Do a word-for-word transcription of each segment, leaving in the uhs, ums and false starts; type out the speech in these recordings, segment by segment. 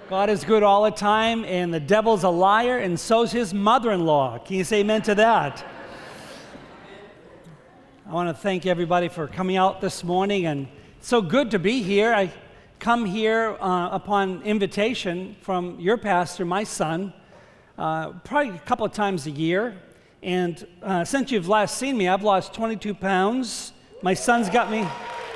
God is good all the time, and the devil's a liar, and so's his mother-in-law. Can you say amen to that? I want to thank everybody for coming out this morning, and it's so good to be here. I come here uh, upon invitation from your pastor, my son, uh, probably a couple of times a year. And uh, since you've last seen me, I've lost twenty-two pounds. My son's got me...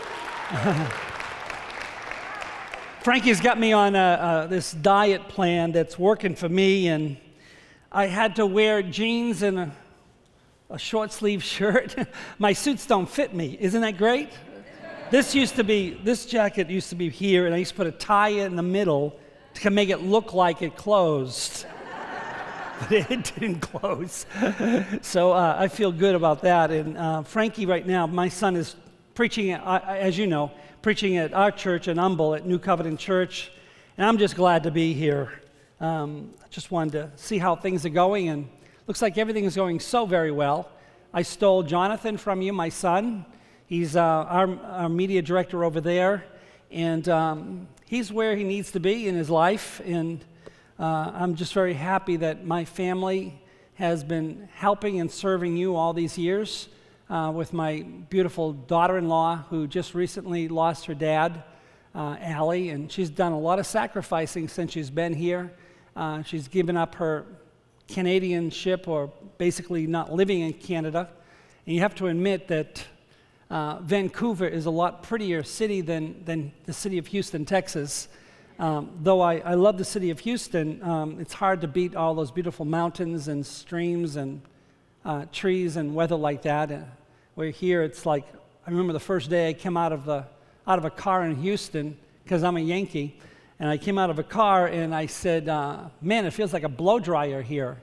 Frankie's got me on a, uh, this diet plan that's working for me, and I had to wear jeans and a, a short sleeve shirt. My suits don't fit me. Isn't that great? This used to be, this jacket used to be here, and I used to put a tie in the middle to make it look like it closed. But it didn't close. So uh, I feel good about that. And uh, Frankie right now, my son is preaching, uh, as you know, preaching at our church in Humble at New Covenant Church, and I'm just glad to be here. Um, I just wanted to see how things are going, and looks like everything is going so very well. I stole Jonathan from you, my son. He's uh, our, our media director over there, and um, he's where he needs to be in his life, and uh, I'm just very happy that my family has been helping and serving you all these years. Uh, with my beautiful daughter-in-law who just recently lost her dad, uh, Allie, and she's done a lot of sacrificing since she's been here. Uh, she's given up her Canadianship, or basically not living in Canada. And you have to admit that uh, Vancouver is a lot prettier city than, than the city of Houston, Texas. Um, though I, I love the city of Houston, um, it's hard to beat all those beautiful mountains and streams and uh, trees and weather like that. We're here, it's like, I remember the first day I came out of, the, out of a car in Houston, because I'm a Yankee, and I came out of a car and I said, uh, man, it feels like a blow dryer here.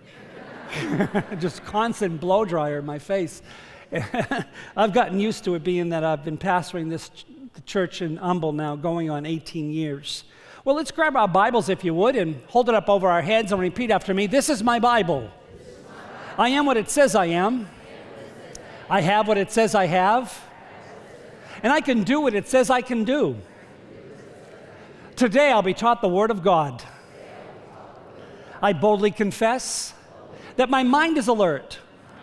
Just constant blow dryer in my face. I've gotten used to it, being that I've been pastoring this ch- church in Humble now, going on eighteen years. Well, let's grab our Bibles, if you would, and hold it up over our heads and repeat after me. This is my Bible. I am what it says I am. I have what it says I have, and I can do what it says I can do. Today I'll be taught the Word of God. I boldly confess that my mind is alert,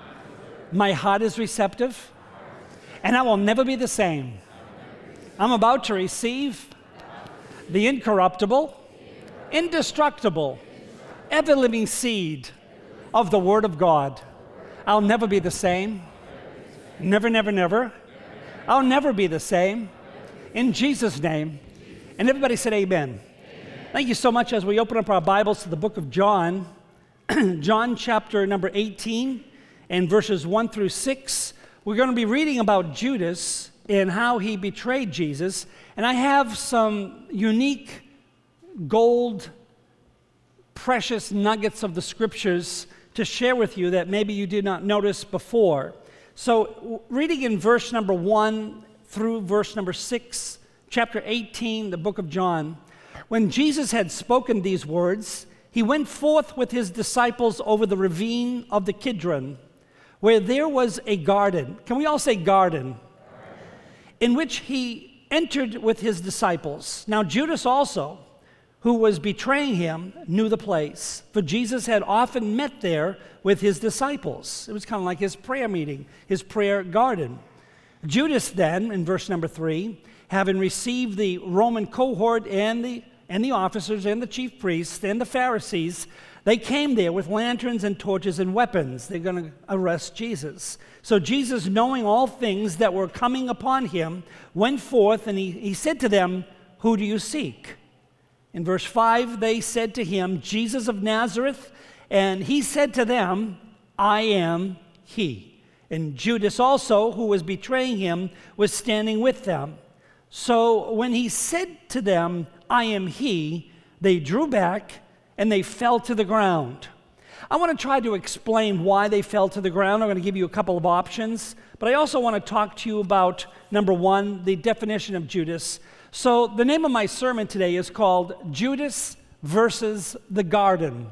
my heart is receptive, and I will never be the same. I'm about to receive the incorruptible, indestructible, ever-living seed of the Word of God. I'll never be the same. Never, never, never. I'll never be the same. In Jesus' name. And everybody said amen. Amen. Thank you so much. As we open up our Bibles to the book of John, John chapter number eighteen and verses one through six, we're going to be reading about Judas and how he betrayed Jesus. And I have some unique gold, precious nuggets of the scriptures to share with you that maybe you did not notice before. So reading in verse number one through verse number six, chapter eighteen, the book of John, when Jesus had spoken these words, he went forth with his disciples over the ravine of the Kidron, where there was a garden. Can we all say garden? In which he entered with his disciples. Now Judas also, who was betraying him, knew the place, for Jesus had often met there with his disciples. It was kind of like his prayer meeting, his prayer garden. Judas then, in verse number three, having received the Roman cohort and the, and the officers and the chief priests and the Pharisees, they came there with lanterns and torches and weapons. They're going to arrest Jesus. So Jesus, knowing all things that were coming upon him, went forth, and he, he said to them, "Who do you seek?" In verse five, they said to him, "Jesus of Nazareth." And he said to them, "I am he." And Judas also, who was betraying him, was standing with them. So when he said to them, "I am he," they drew back and they fell to the ground. I want to try to explain why they fell to the ground. I'm going to give you a couple of options, but I also want to talk to you about, number one, the definition of Judas. So the name of my sermon today is called Judas versus the Garden.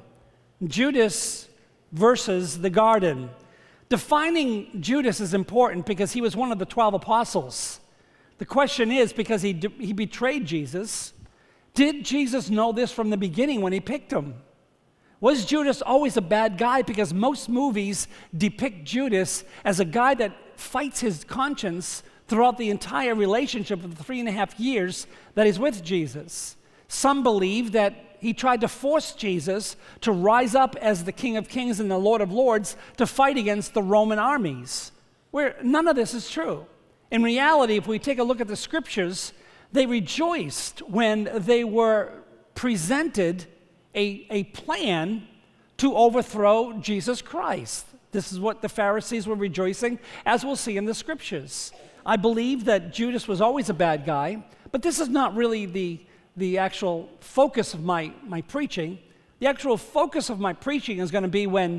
Judas versus the garden. Defining Judas is important because he was one of the twelve apostles. The question is, because he, he betrayed Jesus, Did Jesus know this from the beginning when he picked him? Was Judas always a bad guy? Because most movies depict Judas as a guy that fights his conscience throughout the entire relationship of the three and a half years that he's with Jesus. Some believe that he tried to force Jesus to rise up as the King of Kings and the Lord of Lords to fight against the Roman armies, where none of this is true. In reality, if we take a look at the scriptures, they rejoiced when they were presented a, a plan to overthrow Jesus Christ. This is what the Pharisees were rejoicing, as we'll see in the scriptures. I believe that Judas was always a bad guy, but this is not really the, the actual focus of my, my preaching. The actual focus of my preaching is going to be when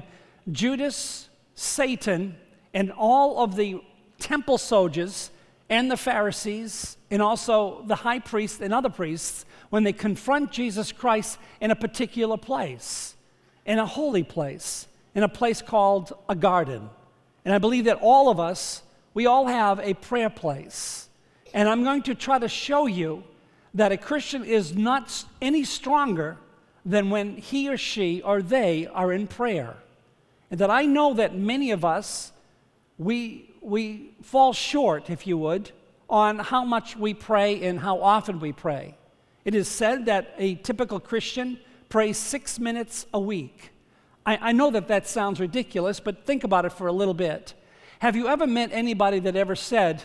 Judas, Satan, and all of the temple soldiers and the Pharisees, and also the high priest and other priests, when they confront Jesus Christ in a particular place, in a holy place, in a place called a garden. And I believe that all of us, we all have a prayer place. And I'm going to try to show you that a Christian is not any stronger than when he or she or they are in prayer. And that I know that many of us, we, we fall short, if you would, on how much we pray and how often we pray. It is said that a typical Christian prays six minutes a week. I, I know that that sounds ridiculous, but think about it for a little bit. Have you ever met anybody that ever said,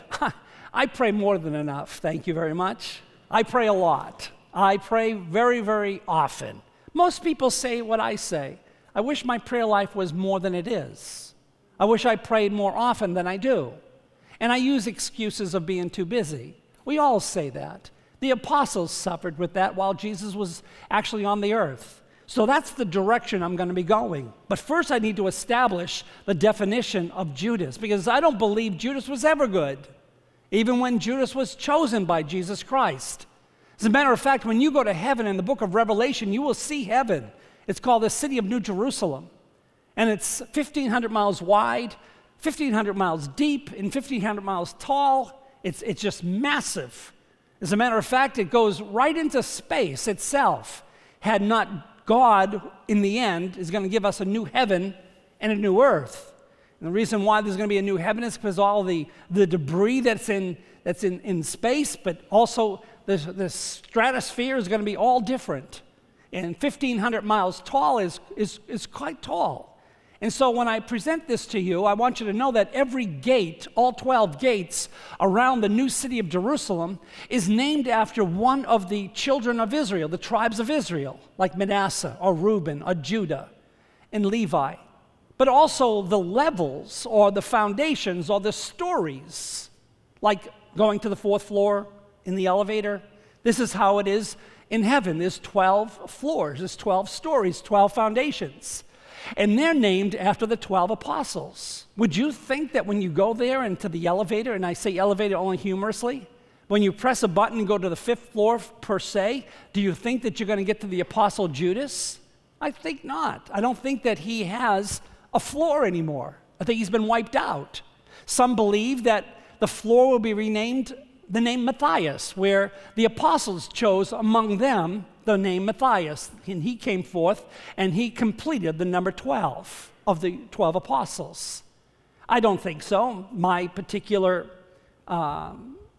I pray more than enough, thank you very much. I pray a lot. I pray very, very often. Most people say what I say. I wish my prayer life was more than it is. I wish I prayed more often than I do. And I use excuses of being too busy. We all say that. The apostles suffered with that while Jesus was actually on the earth. So that's the direction I'm going to be going. But first I need to establish the definition of Judas, because I don't believe Judas was ever good, even when Judas was chosen by Jesus Christ. As a matter of fact, when you go to heaven in the book of Revelation, you will see heaven. It's called the city of New Jerusalem. And it's fifteen hundred miles wide, fifteen hundred miles deep, and fifteen hundred miles tall. It's, it's just massive. As a matter of fact, it goes right into space itself. Had not God, in the end, is going to give us a new heaven and a new earth. And the reason why there's going to be a new heaven is because all the, the debris that's in, that's in, in space, but also the, the stratosphere is going to be all different. And fifteen hundred miles tall is, is, is quite tall. And so when I present this to you, I want you to know that every gate, all twelve gates around the new city of Jerusalem, is named after one of the children of Israel, the tribes of Israel, like Manasseh or Reuben or Judah and Levi. But also the levels or the foundations or the stories, like going to the fourth floor in the elevator. This is how it is in heaven. There's twelve floors, there's twelve stories, twelve foundations. And they're named after the twelve apostles. Would you think that when you go there into the elevator, and I say elevator only humorously, when you press a button and go to the fifth floor per se, do you think that you're going to get to the apostle Judas? I think not. I don't think that he has a floor anymore. I think he's been wiped out. Some believe that the floor will be renamed the name Matthias, where the apostles chose among them the name Matthias, and he came forth and he completed the number twelve of the twelve apostles. I don't think so. My particular uh,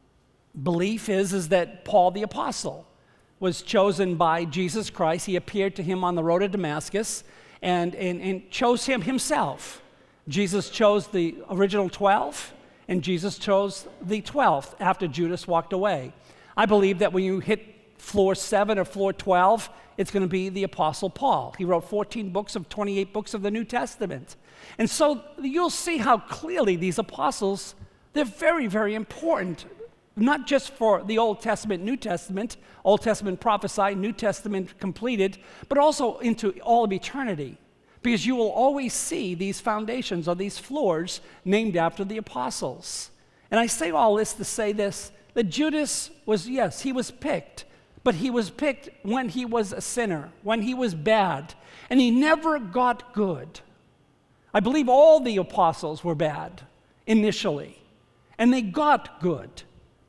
belief is, is that Paul the apostle was chosen by Jesus Christ. He appeared to him on the road to Damascus and, and, and chose him himself. Jesus chose the original twelve, and Jesus chose the twelfth after Judas walked away. I believe that when you hit floor seven or floor twelve, it's going to be the Apostle Paul. He wrote fourteen books of twenty-eight books of the New Testament. And so you'll see how clearly these apostles, they're very, very important, not just for the Old Testament, New Testament, Old Testament prophesied, New Testament completed, but also into all of eternity. Because you will always see these foundations or these floors named after the apostles. And I say all this to say this, that Judas was, yes, he was picked, but he was picked when he was a sinner, when he was bad, and he never got good. I believe all the apostles were bad initially, and they got good.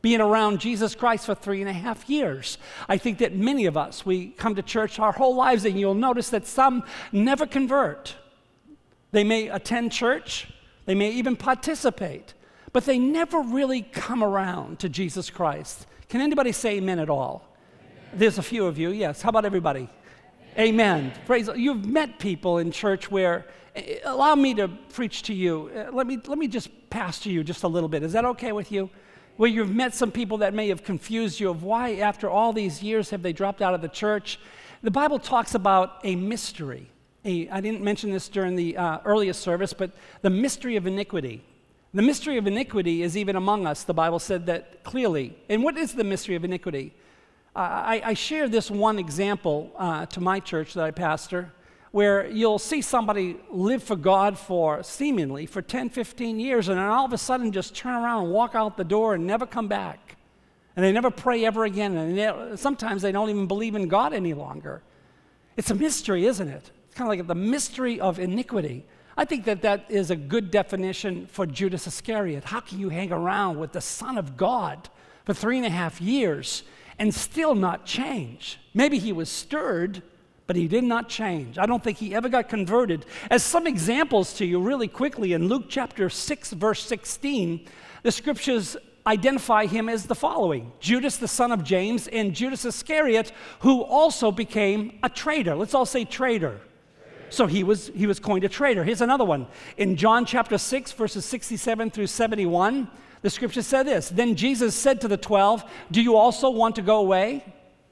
being around Jesus Christ for three and a half years. I think that many of us, we come to church our whole lives, and you'll notice that some never convert. They may attend church, they may even participate, but they never really come around to Jesus Christ. Can anybody say amen at all? Amen. There's a few of you, yes. How about everybody? Amen. Amen. Praise. You've met people in church where, allow me to preach to you. Let me, let me just pastor you just a little bit. Is that okay with you? Where you've met some people that may have confused you of why after all these years have they dropped out of the church. The Bible talks about a mystery. A, I didn't mention this during the uh, earliest service, but the mystery of iniquity. The mystery of iniquity is even among us. The Bible said that clearly. And what is the mystery of iniquity? Uh, I, I share this one example uh, to my church that I pastor, where you'll see somebody live for God for, seemingly, for ten, fifteen years, and then all of a sudden just turn around and walk out the door and never come back. And they never pray ever again, and they, sometimes they don't even believe in God any longer. It's a mystery, isn't it? It's kind of like the mystery of iniquity. I think that that is a good definition for Judas Iscariot. How can you hang around with the Son of God for three and a half years and still not change? Maybe he was stirred, but he did not change. I don't think he ever got converted. As some examples to you really quickly, in Luke chapter six, verse sixteen, the scriptures identify him as the following: Judas, the son of James, and Judas Iscariot, who also became a traitor. Let's all say traitor. So he was, he was coined a traitor. Here's another one. In John chapter six, verses sixty-seven through seventy-one, the scripture said this: Then Jesus said to the twelve, do you also want to go away?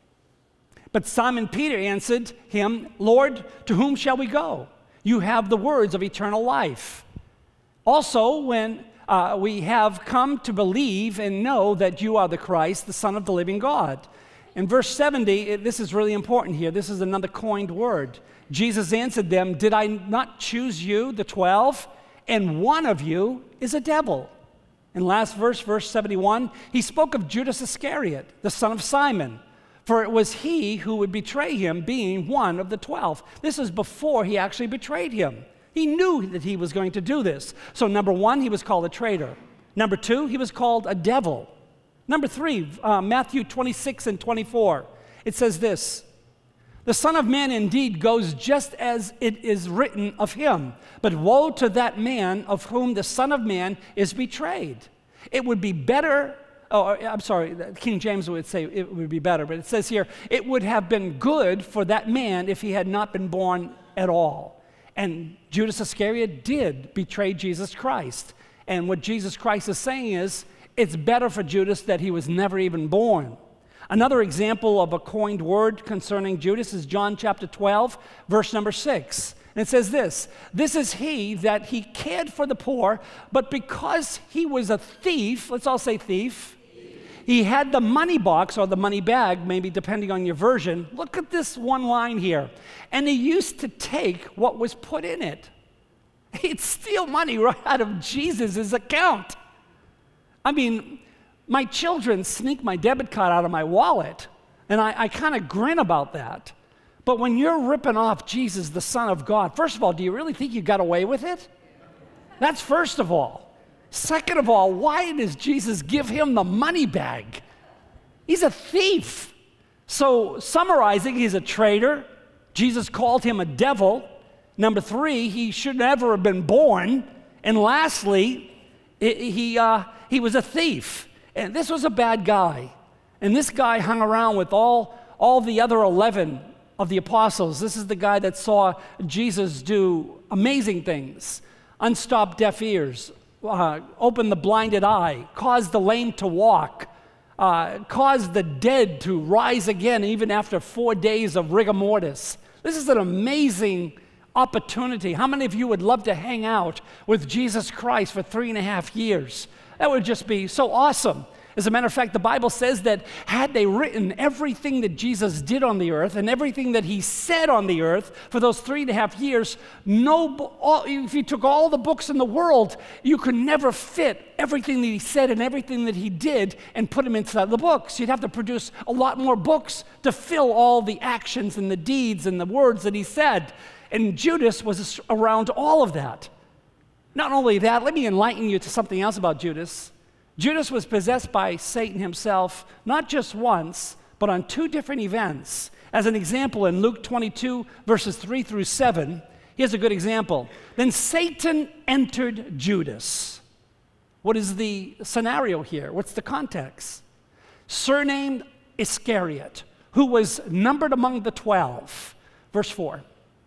But Simon Peter answered him, Lord, to whom shall we go? You have the words of eternal life. Also, when uh, we have come to believe and know that you are the Christ, the Son of the living God. In verse seventy, it, this is really important here. This is another coined word. Jesus answered them, did I not choose you, the twelve, and one of you is a devil? In last verse, verse seventy-one, he spoke of Judas Iscariot, the son of Simon. For it was he who would betray him, being one of the twelve. This is before he actually betrayed him. He knew that he was going to do this. So number one, he was called a traitor. Number two, he was called a devil. Number three, uh, Matthew twenty-six and twenty-four. It says this: the Son of Man indeed goes just as it is written of him, but woe to that man of whom the Son of Man is betrayed. It would be better... Oh, I'm sorry, King James would say it would be better, but it says here, it would have been good for that man if he had not been born at all. And Judas Iscariot did betray Jesus Christ. And what Jesus Christ is saying is, it's better for Judas that he was never even born. Another example of a coined word concerning Judas is John chapter twelve, verse number six. And it says this: this is he that he cared for the poor, but because he was a thief, let's all say thief, he had the money box or the money bag, maybe depending on your version. Look at this one line here. And he used to take what was put in it. He'd steal money right out of Jesus' account. I mean, my children sneak my debit card out of my wallet, and I, I kind of grin about that. But when you're ripping off Jesus, the Son of God, first of all, do you really think you got away with it? That's first of all. Second of all, why does Jesus give him the money bag? He's a thief. So, summarizing, he's a traitor. Jesus called him a devil. Number three, he should never have been born. And lastly, it, he, uh, he was a thief. And this was a bad guy. And this guy hung around with all, all the other eleven of the apostles. This is the guy that saw Jesus do amazing things: unstop deaf ears, uh, open the blinded eye, cause the lame to walk, uh, cause the dead to rise again even after four days of rigor mortis. This is an amazing opportunity. How many of you would love to hang out with Jesus Christ for three and a half years? That would just be so awesome. As a matter of fact, the Bible says that had they written everything that Jesus did on the earth and everything that he said on the earth for those three and a half years, no, all, if you took all the books in the world, you could never fit everything that he said and everything that he did and put them inside the books. You'd have to produce a lot more books to fill all the actions and the deeds and the words that he said. And Judas was around all of that. Not only that, let me enlighten you to something else about Judas. Judas was possessed by Satan himself, not just once, but on two different events. As an example, in Luke twenty-two, verses three through seven, here's a good example. Then Satan entered Judas. What is the scenario here? What's the context? Surnamed Iscariot, who was numbered among the twelve. Verse four.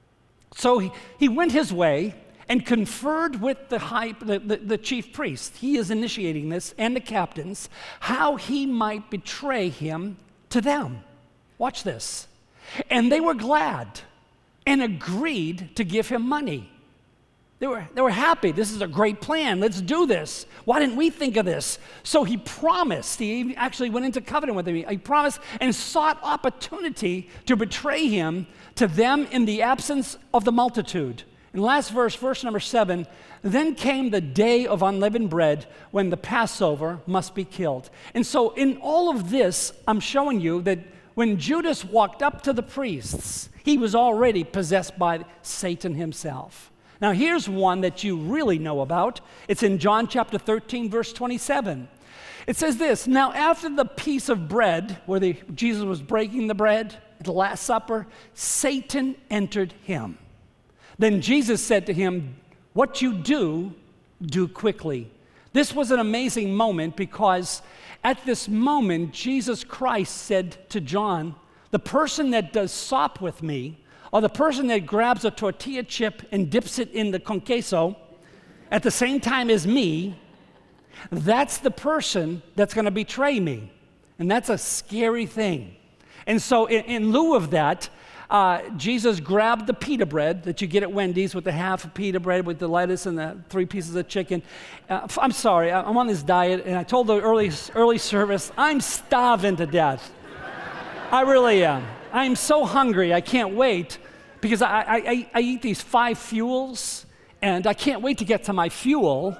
So he, he went his way and conferred with the, high, the, the, the chief priest. He is initiating this, and the captains, how he might betray him to them. Watch this. And they were glad and agreed to give him money. They were, they were happy. This is a great plan. Let's do this. Why didn't we think of this? So he promised. He actually went into covenant with them. He promised and sought opportunity to betray him to them in the absence of the multitude. In the last verse, verse number seven, then came the day of unleavened bread when the Passover must be killed. And so in all of this, I'm showing you that when Judas walked up to the priests, he was already possessed by Satan himself. Now here's one that you really know about. It's in John chapter thirteen, verse twenty-seven. It says this, now after the piece of bread, where the, Jesus was breaking the bread at the Last Supper, Satan entered him. Then Jesus said to him, what you do, do quickly. This was an amazing moment because at this moment, Jesus Christ said to John, the person that does sop with me, or the person that grabs a tortilla chip and dips it in the con queso at the same time as me, that's the person that's going to betray me. And that's a scary thing. And so in, in lieu of that, uh, Jesus grabbed the pita bread that you get at Wendy's with the half of pita bread with the lettuce and the three pieces of chicken. Uh, I'm sorry, I'm on this diet, and I told the early, early service, I'm starving to death. I really am. I'm so hungry, I can't wait, because I, I, I eat these five fuels, and I can't wait to get to my fuel.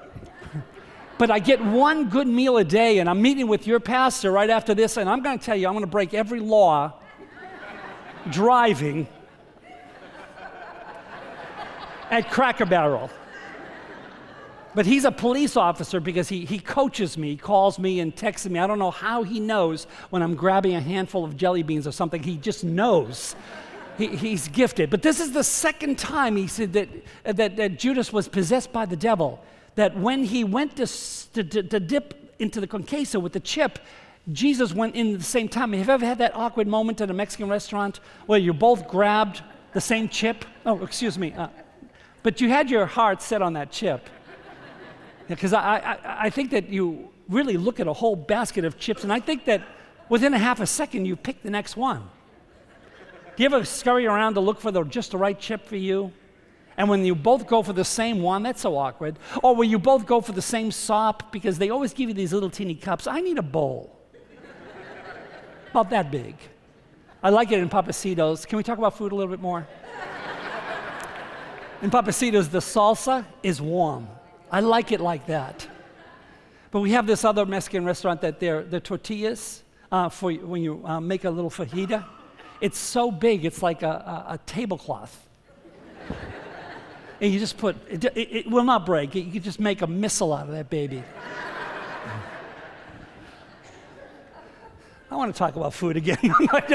But I get one good meal a day, and I'm meeting with your pastor right after this, and I'm going to tell you, I'm going to break every law driving at Cracker Barrel. But he's a police officer because he, he coaches me, he calls me and texts me. I don't know how he knows when I'm grabbing a handful of jelly beans or something. He just knows. He, he's gifted. But this is the second time he said that, that, that Judas was possessed by the devil. That when he went to, to, to dip into the con queso with the chip, Jesus went in at the same time. Have you ever had that awkward moment at a Mexican restaurant where you both grabbed the same chip? Oh, excuse me. Uh, but you had your heart set on that chip. Because I, I, I think that you really look at a whole basket of chips, and I think that within a half a second, you pick the next one. Do you ever scurry around to look for the, just the right chip for you? And when you both go for the same one, that's so awkward. Or when you both go for the same sop, because they always give you these little teeny cups. I need a bowl. About that big. I like it in Pappasitos. Can we talk about food a little bit more? In Pappasitos, the salsa is warm. I like it like that. But we have this other Mexican restaurant that they're, they're tortillas uh, for when you uh, make a little fajita. It's so big, it's like a, a, a tablecloth. And you just put, it, it, it will not break. You can just make a missile out of that baby. I want to talk about food again.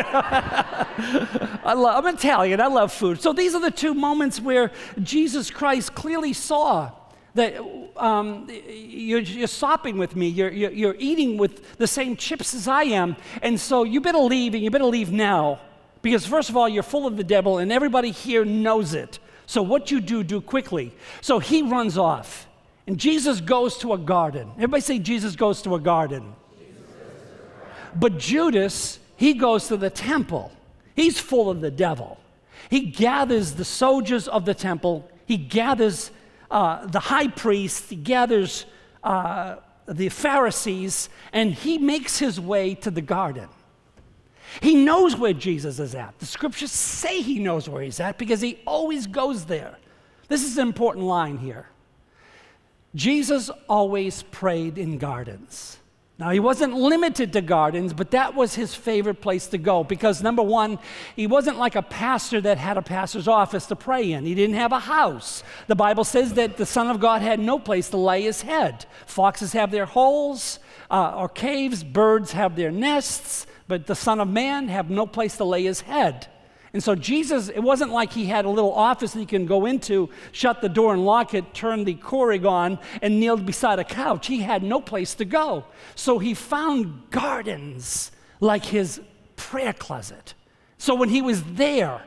I love, I'm Italian, I love food. So these are the two moments where Jesus Christ clearly saw that um, you're, you're sopping with me, you're, you're, you're eating with the same chips as I am, and so you better leave, and you better leave now. Because first of all, you're full of the devil, and everybody here knows it. So what you do, do quickly. So he runs off, and Jesus goes to a garden. Everybody say Jesus goes to a garden. But Judas, he goes to the temple. He's full of the devil. He gathers the soldiers of the temple. He gathers uh, the high priest. He gathers uh, the Pharisees, and he makes his way to the garden. He knows where Jesus is at. The scriptures say he knows where he's at because he always goes there. This is an important line here. Jesus always prayed in gardens. Now, he wasn't limited to gardens, but that was his favorite place to go because, number one, he wasn't like a pastor that had a pastor's office to pray in. He didn't have a house. The Bible says that the Son of God had no place to lay his head. Foxes have their holes uh, or caves. Birds have their nests, but the Son of Man have no place to lay his head. And so Jesus, it wasn't like he had a little office that he can go into, shut the door and lock it, turn the Keurig on, and kneel beside a couch. He had no place to go. So he found gardens like his prayer closet. So when he was there,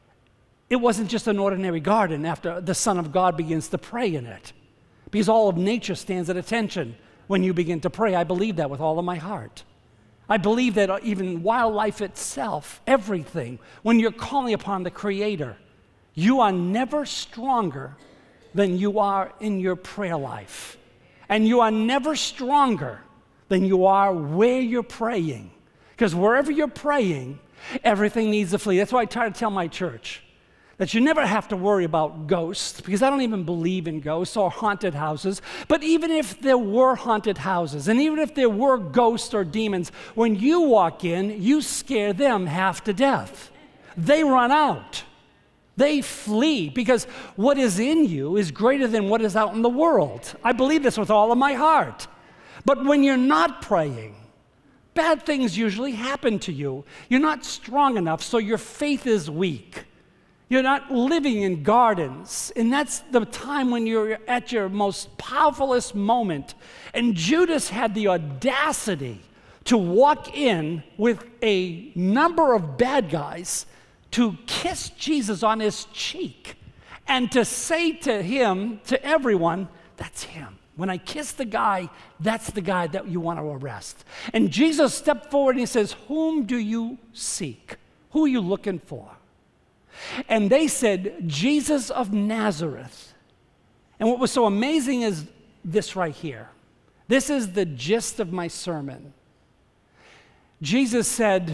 it wasn't just an ordinary garden after the Son of God begins to pray in it. Because all of nature stands at attention when you begin to pray. I believe that with all of my heart. I believe that even wildlife itself, everything, when you're calling upon the Creator, you are never stronger than you are in your prayer life. And you are never stronger than you are where you're praying. Because wherever you're praying, everything needs to flee. That's why I try to tell my church that you never have to worry about ghosts, because I don't even believe in ghosts or haunted houses. But even if there were haunted houses, and even if there were ghosts or demons, when you walk in, you scare them half to death. They run out. They flee, because what is in you is greater than what is out in the world. I believe this with all of my heart. But when you're not praying, bad things usually happen to you. You're not strong enough, so your faith is weak. You're not living in gardens. And that's the time when you're at your most powerfulest moment. And Judas had the audacity to walk in with a number of bad guys to kiss Jesus on his cheek and to say to him, to everyone, that's him. When I kiss the guy, that's the guy that you want to arrest. And Jesus stepped forward and he says, whom do you seek? Who are you looking for? And they said, Jesus of Nazareth. And what was so amazing is this right here. This is the gist of my sermon. Jesus said,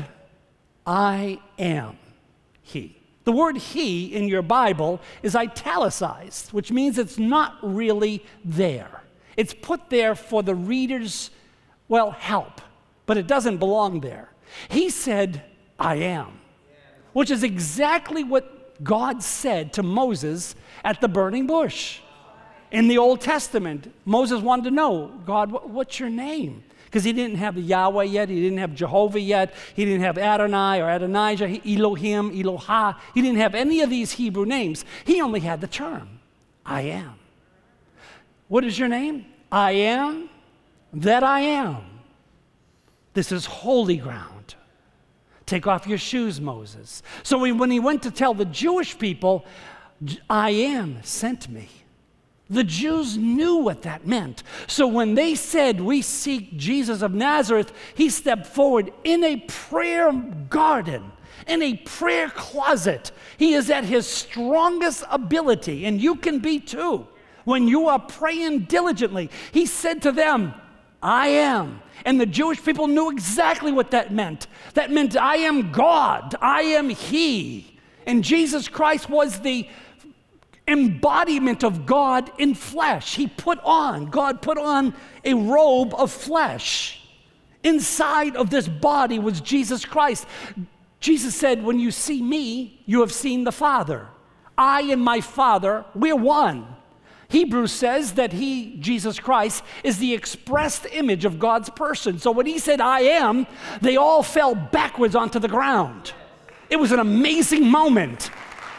I am he. The word he in your Bible is italicized, which means it's not really there. It's put there for the reader's, well, help, but it doesn't belong there. He said, I am. Which is exactly what God said to Moses at the burning bush. In the Old Testament, Moses wanted to know, God, what's your name? Because he didn't have Yahweh yet, he didn't have Jehovah yet, he didn't have Adonai or Adonijah, Elohim, Eloha. He didn't have any of these Hebrew names. He only had the term, I am. What is your name? I am that I am. This is holy ground. Take off your shoes, Moses. So when he went to tell the Jewish people, I am sent me, the Jews knew what that meant. So when they said, we seek Jesus of Nazareth, he stepped forward in a prayer garden, in a prayer closet. He is at his strongest ability, and you can be too. When you are praying diligently, he said to them, I am. And the Jewish people knew exactly what that meant. That meant I am God, I am he. And Jesus Christ was the embodiment of God in flesh. He put on, God put on a robe of flesh. Inside of this body was Jesus Christ. Jesus said, when you see me, you have seen the Father. I and my Father, we're one. Hebrews says that he, Jesus Christ, is the expressed image of God's person. So when he said, I am, they all fell backwards onto the ground. It was an amazing moment.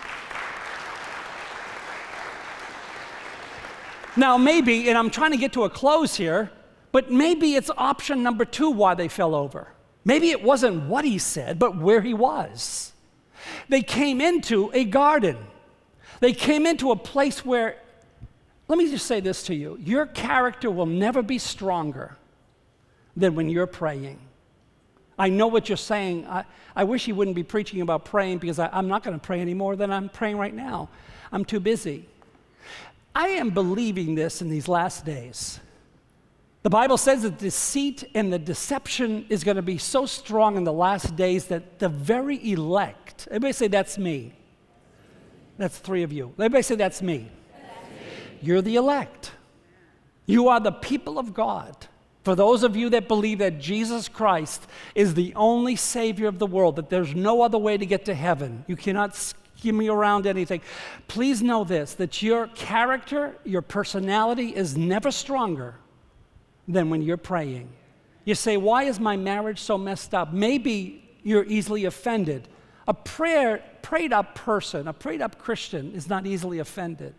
Now maybe, and I'm trying to get to a close here, but maybe it's option number two why they fell over. Maybe it wasn't what he said, but where he was. They came into a garden. They came into a place where, let me just say this to you. Your character will never be stronger than when you're praying. I know what you're saying. I, I wish he wouldn't be preaching about praying because I, I'm not going to pray any more than I'm praying right now. I'm too busy. I am believing this in these last days. The Bible says that deceit and the deception is going to be so strong in the last days that the very elect, everybody say that's me. That's three of you. Everybody say that's me. You're the elect. You are the people of God, For those of you that believe that Jesus Christ is the only Savior of the world, that there's no other way to get to heaven, you cannot skim around anything, please know this, that your character, your personality is never stronger than when you're praying. You say, why is my marriage so messed up? Maybe you're easily offended. A prayer, prayed up person, a prayed up Christian is not easily offended.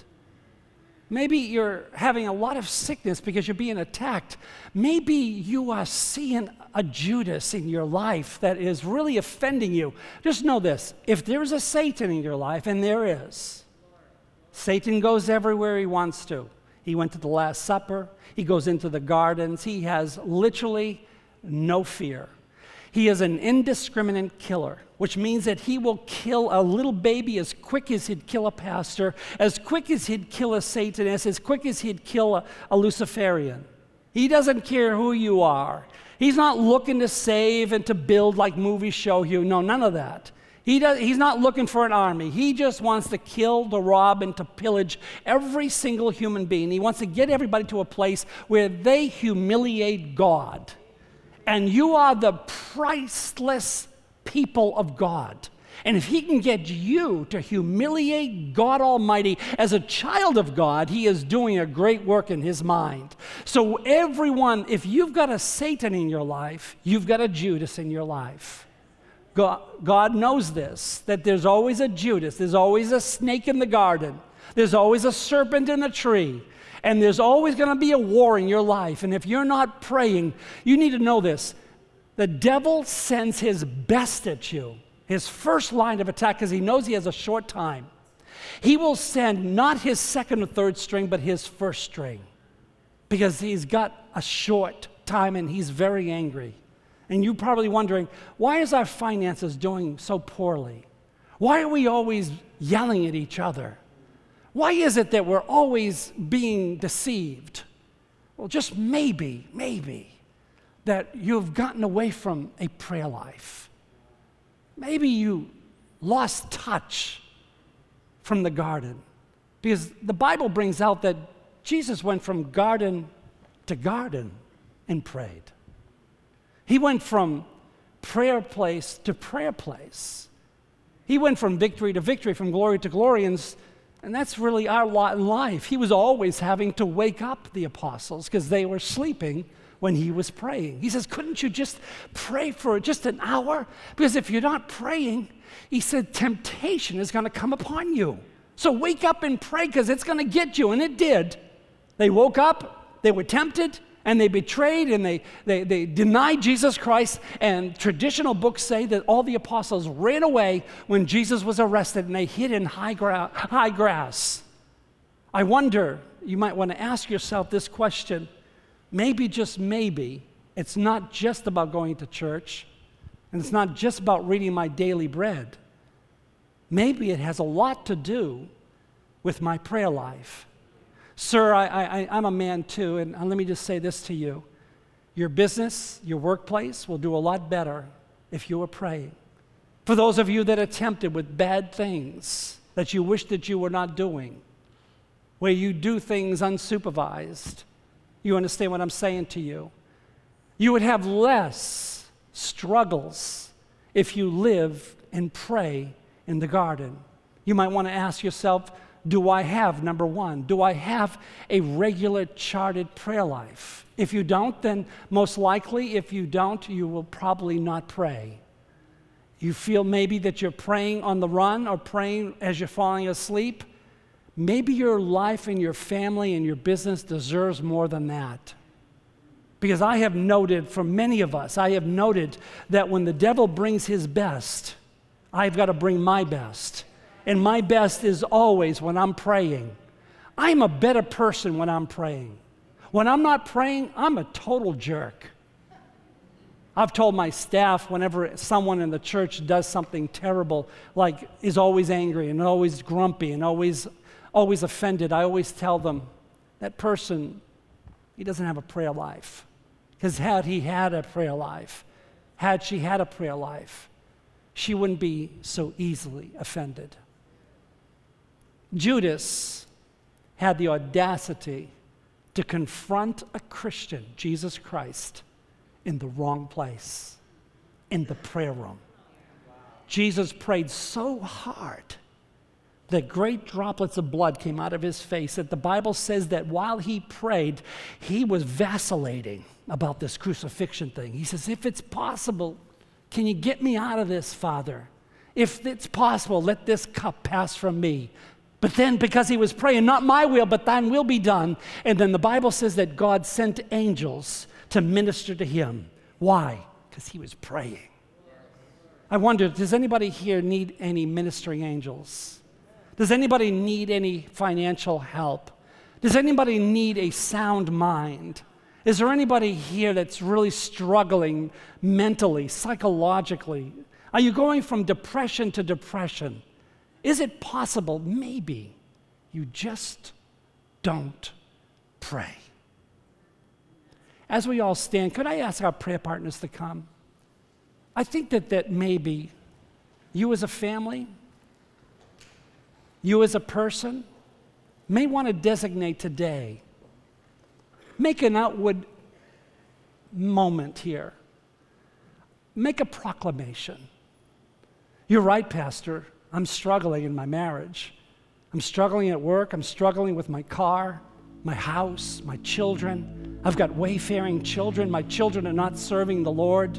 Maybe you're having a lot of sickness because you're being attacked. Maybe you are seeing a Judas in your life that is really offending you. Just know this, if there's a Satan in your life, and there is, Satan goes everywhere he wants to. He went to the Last Supper. He goes into the gardens. He has literally no fear. He is an indiscriminate killer, which means that he will kill a little baby as quick as he'd kill a pastor, as quick as he'd kill a Satanist, as quick as he'd kill a, a Luciferian. He doesn't care who you are. He's not looking to save and to build like movies show you. No, none of that. He does, he's not looking for an army. He just wants to kill, to rob, and to pillage every single human being. He wants to get everybody to a place where they humiliate God. And you are the priceless people of God. And if he can get you to humiliate God Almighty as a child of God, he is doing a great work in his mind. So everyone, if you've got a Satan in your life, you've got a Judas in your life. God, God knows this, that there's always a Judas, there's always a snake in the garden, there's always a serpent in the tree, and there's always going to be a war in your life. And if you're not praying, you need to know this. The devil sends his best at you, his first line of attack, because he knows he has a short time. He will send not his second or third string, but his first string, because he's got a short time and he's very angry. And you're probably wondering, why is our finances doing so poorly? Why are we always yelling at each other? Why is it that we're always being deceived? Well, just maybe, maybe, that you've gotten away from a prayer life. Maybe you lost touch from the garden. Because the Bible brings out that Jesus went from garden to garden and prayed. He went from prayer place to prayer place. He went from victory to victory, from glory to glory, and, and that's really our lot in life. He was always having to wake up the apostles because they were sleeping when he was praying. He says, couldn't you just pray for just an hour? Because if you're not praying, he said, temptation is going to come upon you. So wake up and pray because it's going to get you, and it did. They woke up, they were tempted, and they betrayed and they, they, they denied Jesus Christ. And traditional books say that all the apostles ran away when Jesus was arrested and they hid in high, gra- high grass. I wonder, you might want to ask yourself this question. Maybe, just maybe, it's not just about going to church and it's not just about reading my daily bread. Maybe it has a lot to do with my prayer life. Sir, I, I, I'm a man too, and let me just say this to you. Your business, your workplace will do a lot better if you were praying. For those of you that are tempted with bad things that you wish that you were not doing, where you do things unsupervised, you understand what I'm saying to you? You would have less struggles if you live and pray in the garden. You might want to ask yourself, do I have, number one, do I have a regular charted prayer life? If you don't, then most likely, if you don't, you will probably not pray. You feel maybe that you're praying on the run or praying as you're falling asleep. Maybe your life and your family and your business deserves more than that. Because I have noted, for many of us, I have noted that when the devil brings his best, I've got to bring my best. And my best is always when I'm praying. I'm a better person when I'm praying. When I'm not praying, I'm a total jerk. I've told my staff whenever someone in the church does something terrible, like is always angry and always grumpy and always, always offended, I always tell them, that person, he doesn't have a prayer life. Because had he had a prayer life, had she had a prayer life, she wouldn't be so easily offended. Judas had the audacity to to confront a Christian, Jesus Christ, in the wrong place, in the prayer room. Jesus prayed so hard that great droplets of blood came out of his face, that the Bible says that while he prayed, he was vacillating about this crucifixion thing. He says, if it's possible, can you get me out of this, Father? If it's possible, let this cup pass from me. But then, because he was praying, not my will, but thine will be done. And then the Bible says that God sent angels to minister to him. Why? Because he was praying. I wonder, does anybody here need any ministering angels? Does anybody need any financial help? Does anybody need a sound mind? Is there anybody here that's really struggling mentally, psychologically? Are you going from depression to depression? Is it possible, maybe, you just don't pray? As we all stand, could I ask our prayer partners to come? I think that, that maybe you as a family, you as a person, may want to designate today, make an outward moment here. Make a proclamation. You're right, Pastor. I'm struggling in my marriage. I'm struggling at work. I'm struggling with my car, my house, my children. I've got wayfaring children. My children are not serving the Lord.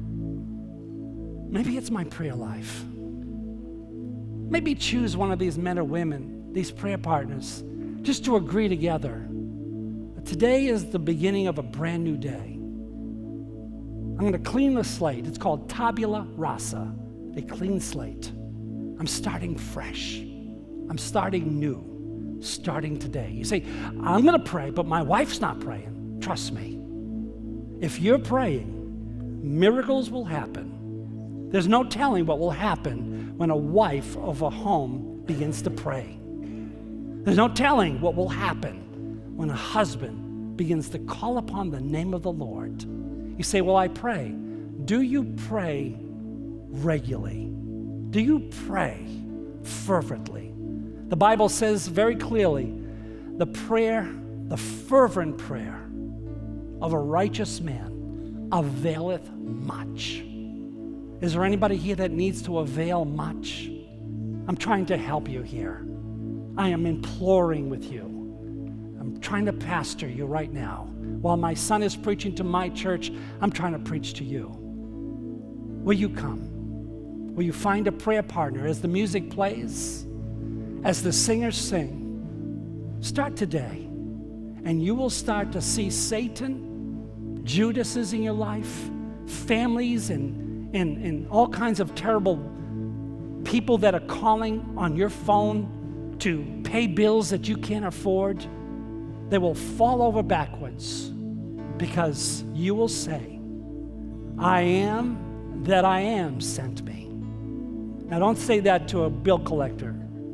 Maybe it's my prayer life. Maybe choose one of these men or women, these prayer partners, just to agree together. Today is the beginning of a brand new day. I'm going to clean the slate. It's called tabula rasa, a clean slate. I'm starting fresh. I'm starting new, starting today. You say, I'm going to pray, but my wife's not praying. Trust me. If you're praying, miracles will happen. There's no telling what will happen when a wife of a home begins to pray. There's no telling what will happen when a husband begins to call upon the name of the Lord. You say, well, I pray. Do you pray regularly? Do you pray fervently? The Bible says very clearly, the prayer, the fervent prayer of a righteous man availeth much. Is there anybody here that needs to avail much? I'm trying to help you here. I am imploring with you. I'm trying to pastor you right now. While my son is preaching to my church, I'm trying to preach to you. Will you come? Will you find a prayer partner as the music plays, as the singers sing? Start today, and you will start to see Satan, Judases in your life, families, and And, and all kinds of terrible people that are calling on your phone to pay bills that you can't afford. They will fall over backwards because you will say, I am that I am sent me. Now don't say that to a bill collector.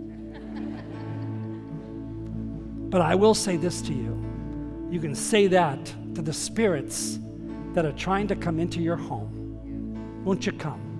But I will say this to you. You can say that to the spirits that are trying to come into your home. Won't you come?